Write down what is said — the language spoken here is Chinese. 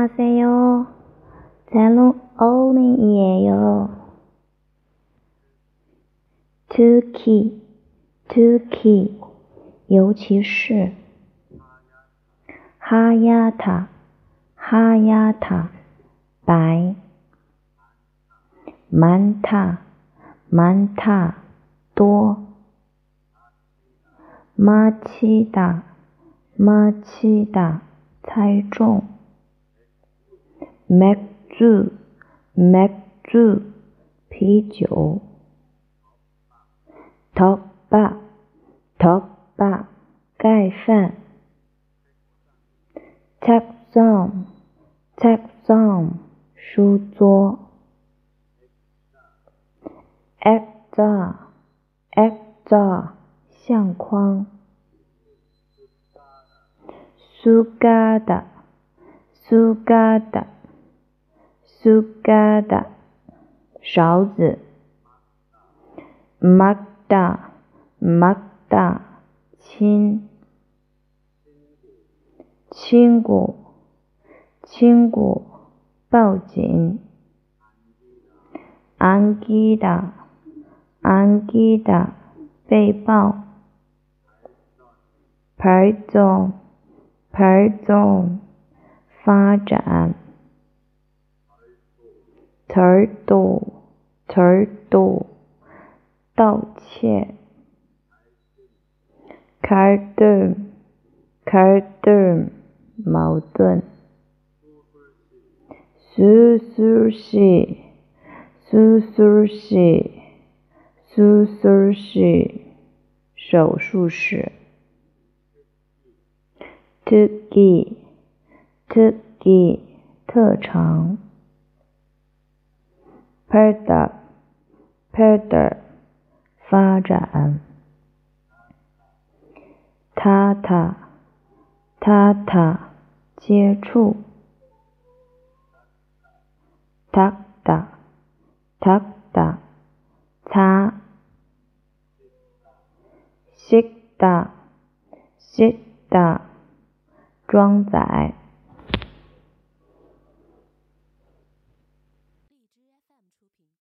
안녕하세요. 젤론 어린이에요. 특히, 尤其是。하얗다, 白。많다, 多。마치다, 猜中。맥주, 啤酒。덮밥, 盖饭。책상, 书桌。액자, 相框。숟가락, 勺子。막다, 亲。亲骨，抱紧。안기다, 被抱。발전, 发展。절도, 盗窃。갈등, 矛盾。수술실，手术室。특기，特长。펼다， 发展。타타， 接触。닦다， 擦。씻다， 装载。